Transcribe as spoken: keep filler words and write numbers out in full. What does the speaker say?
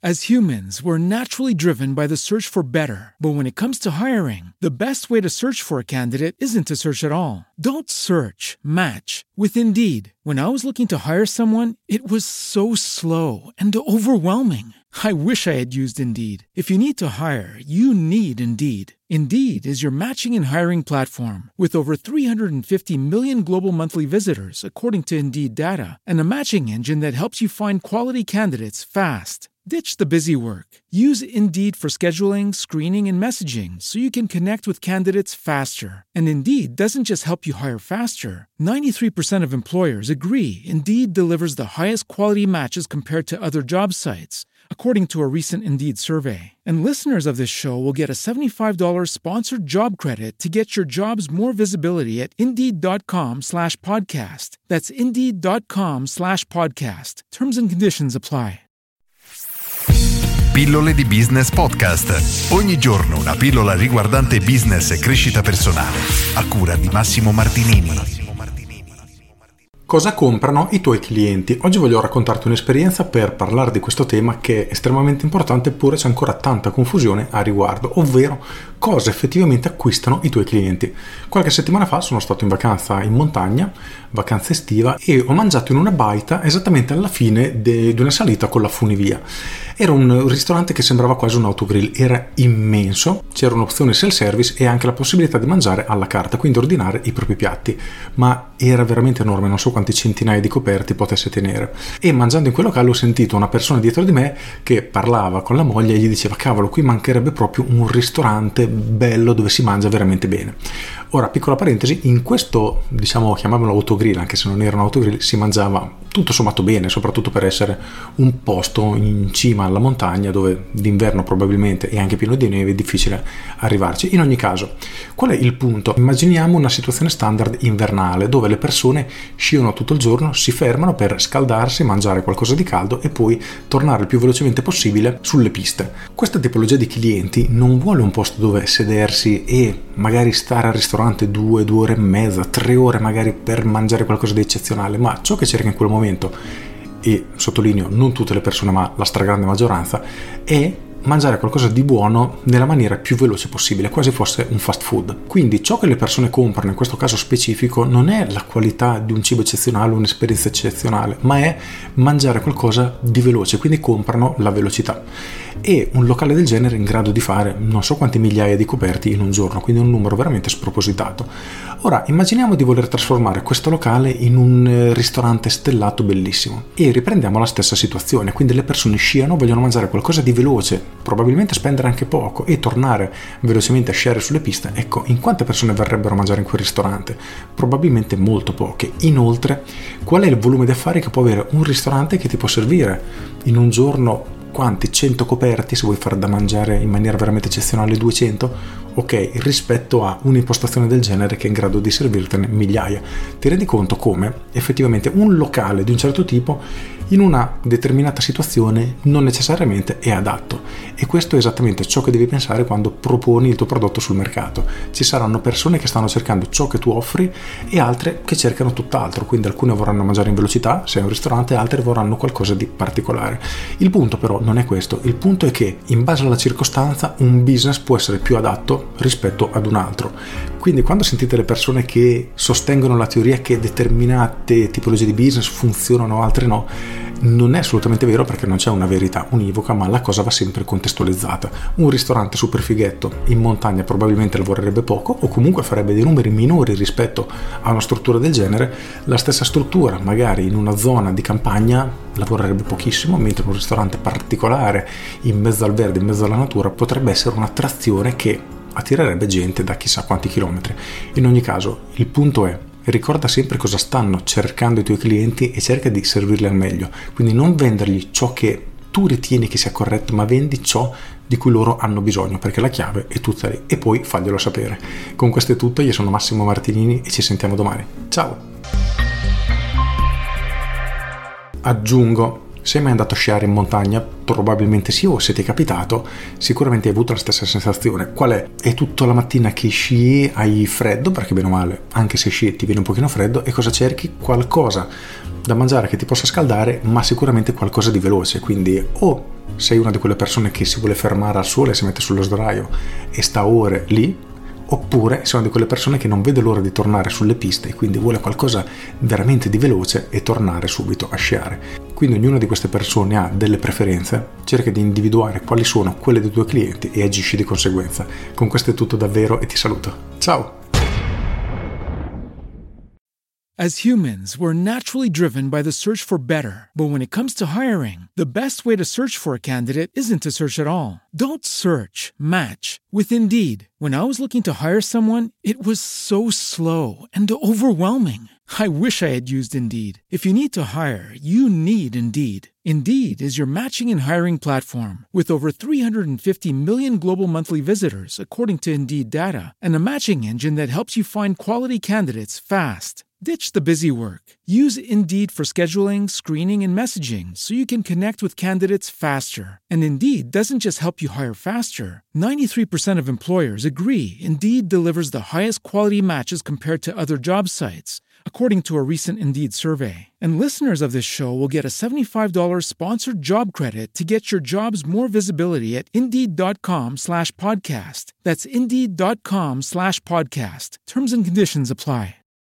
As humans, we're naturally driven by the search for better. But when it comes to hiring, the best way to search for a candidate isn't to search at all. Don't search, match with Indeed. When I was looking to hire someone, it was so slow and overwhelming. I wish I had used Indeed. If you need to hire, you need Indeed. Indeed is your matching and hiring platform with over three hundred fifty million global monthly visitors, according to Indeed data, and a matching engine that helps you find quality candidates fast. Ditch the busy work. Use Indeed for scheduling, screening, and messaging so you can connect with candidates faster. And Indeed doesn't just help you hire faster. ninety-three percent of employers agree Indeed delivers the highest quality matches compared to other job sites, according to a recent Indeed survey. And listeners of this show will get a seventy-five dollars sponsored job credit to get your jobs more visibility at Indeed.com slash podcast. That's Indeed.com slash podcast. Terms and conditions apply. Pillole di Business Podcast. Ogni giorno una pillola riguardante business e crescita personale. A cura di Massimo Martinini. Cosa comprano i tuoi clienti? Oggi voglio raccontarti un'esperienza per parlare di questo tema che è estremamente importante, eppure c'è ancora tanta confusione a riguardo, ovvero cosa effettivamente acquistano i tuoi clienti. Qualche settimana fa sono stato in vacanza in montagna, vacanza estiva, e ho mangiato in una baita esattamente alla fine de- di una salita con la funivia. Era un ristorante che sembrava quasi un autogrill, era immenso, c'era un'opzione self-service e anche la possibilità di mangiare alla carta, quindi ordinare i propri piatti, ma era veramente enorme, non so quanti centinaia di coperti potesse tenere. E mangiando in quel locale ho sentito una persona dietro di me che parlava con la moglie e gli diceva: cavolo, qui mancherebbe proprio un ristorante bello dove si mangia veramente bene. Ora, piccola parentesi, in questo, diciamo, chiamiamolo autogrill, anche se non era un autogrill, si mangiava tutto sommato bene, soprattutto per essere un posto in cima alla montagna dove d'inverno probabilmente è anche pieno di neve, è difficile arrivarci. In ogni caso, qual è il punto? Immaginiamo una situazione standard invernale dove le persone sciano tutto il giorno, si fermano per scaldarsi, mangiare qualcosa di caldo e poi tornare il più velocemente possibile sulle piste. Questa tipologia di clienti non vuole un posto dove sedersi e magari stare al ristorante due, due ore e mezza, tre ore magari per mangiare qualcosa di eccezionale, ma ciò che cerca in quel momento, e sottolineo non tutte le persone ma la stragrande maggioranza, è mangiare qualcosa di buono nella maniera più veloce possibile, quasi fosse un fast food. Quindi ciò che le persone comprano in questo caso specifico non è la qualità di un cibo eccezionale, un'esperienza eccezionale, ma è mangiare qualcosa di veloce, quindi comprano la velocità. E un locale del genere è in grado di fare non so quante migliaia di coperti in un giorno, quindi un numero veramente spropositato. Ora immaginiamo di voler trasformare questo locale in un ristorante stellato bellissimo e riprendiamo la stessa situazione, quindi le persone sciano, vogliono mangiare qualcosa di veloce, probabilmente spendere anche poco e tornare velocemente a sciare sulle piste. Ecco, in quante persone verrebbero a mangiare in quel ristorante? Probabilmente molto poche. Inoltre, qual è il volume di affari che può avere un ristorante che ti può servire in un giorno? Quanti? cento coperti, se vuoi far da mangiare in maniera veramente eccezionale duecento? Ok, rispetto a un'impostazione del genere che è in grado di servirtene migliaia. Ti rendi conto come effettivamente un locale di un certo tipo in una determinata situazione non necessariamente è adatto, e questo è esattamente ciò che devi pensare quando proponi il tuo prodotto sul mercato. Ci saranno persone che stanno cercando ciò che tu offri e altre che cercano tutt'altro, quindi alcune vorranno mangiare in velocità se è un ristorante, altre vorranno qualcosa di particolare. Il punto però non è questo, il punto è che in base alla circostanza un business può essere più adatto rispetto ad un altro. Quindi quando sentite le persone che sostengono la teoria che determinate tipologie di business funzionano, altre no, non è assolutamente vero, perché non c'è una verità univoca, ma la cosa va sempre contestualizzata. Un ristorante super fighetto in montagna probabilmente lavorerebbe poco, o comunque farebbe dei numeri minori rispetto a una struttura del genere. La stessa struttura magari in una zona di campagna lavorerebbe pochissimo, mentre un ristorante particolare in mezzo al verde, in mezzo alla natura, potrebbe essere un'attrazione che attirerebbe gente da chissà quanti chilometri. In ogni caso, il punto è: ricorda sempre cosa stanno cercando i tuoi clienti e cerca di servirli al meglio. Quindi non vendergli ciò che tu ritieni che sia corretto, ma vendi ciò di cui loro hanno bisogno, perché la chiave è tutta lì, e poi faglielo sapere. Con questo è tutto, io sono Massimo Martinini e ci sentiamo domani. Ciao! Aggiungo, sei mai andato a sciare in montagna? Probabilmente sì, o se ti è capitato sicuramente hai avuto la stessa sensazione. Qual è? È tutta la mattina che sci, hai freddo, perché bene o male anche se sci ti viene un pochino freddo, e cosa cerchi? Qualcosa da mangiare che ti possa scaldare, ma sicuramente qualcosa di veloce. Quindi o sei una di quelle persone che si vuole fermare al sole, si mette sullo sdraio e sta ore lì, oppure sei una di quelle persone che non vede l'ora di tornare sulle piste e quindi vuole qualcosa veramente di veloce e tornare subito a sciare. Quindi ognuna di queste persone ha delle preferenze, cerca di individuare quali sono quelle dei tuoi clienti e agisci di conseguenza. Con questo è tutto davvero e ti saluto. Ciao! As humans, we're naturally driven by the search for better. But when it comes to hiring, the best way to search for a candidate isn't to search at all. Don't search, match with Indeed. When I was looking to hire someone, it was so slow and overwhelming. I wish I had used Indeed. If you need to hire, you need Indeed. Indeed is your matching and hiring platform with over three hundred fifty million global monthly visitors, according to Indeed data, and a matching engine that helps you find quality candidates fast. Ditch the busy work. Use Indeed for scheduling, screening, and messaging so you can connect with candidates faster. And Indeed doesn't just help you hire faster. ninety-three percent of employers agree Indeed delivers the highest quality matches compared to other job sites, according to a recent Indeed survey. And listeners of this show will get a seventy-five dollars sponsored job credit to get your jobs more visibility at Indeed.com slash podcast. That's Indeed.com slash podcast. Terms and conditions apply.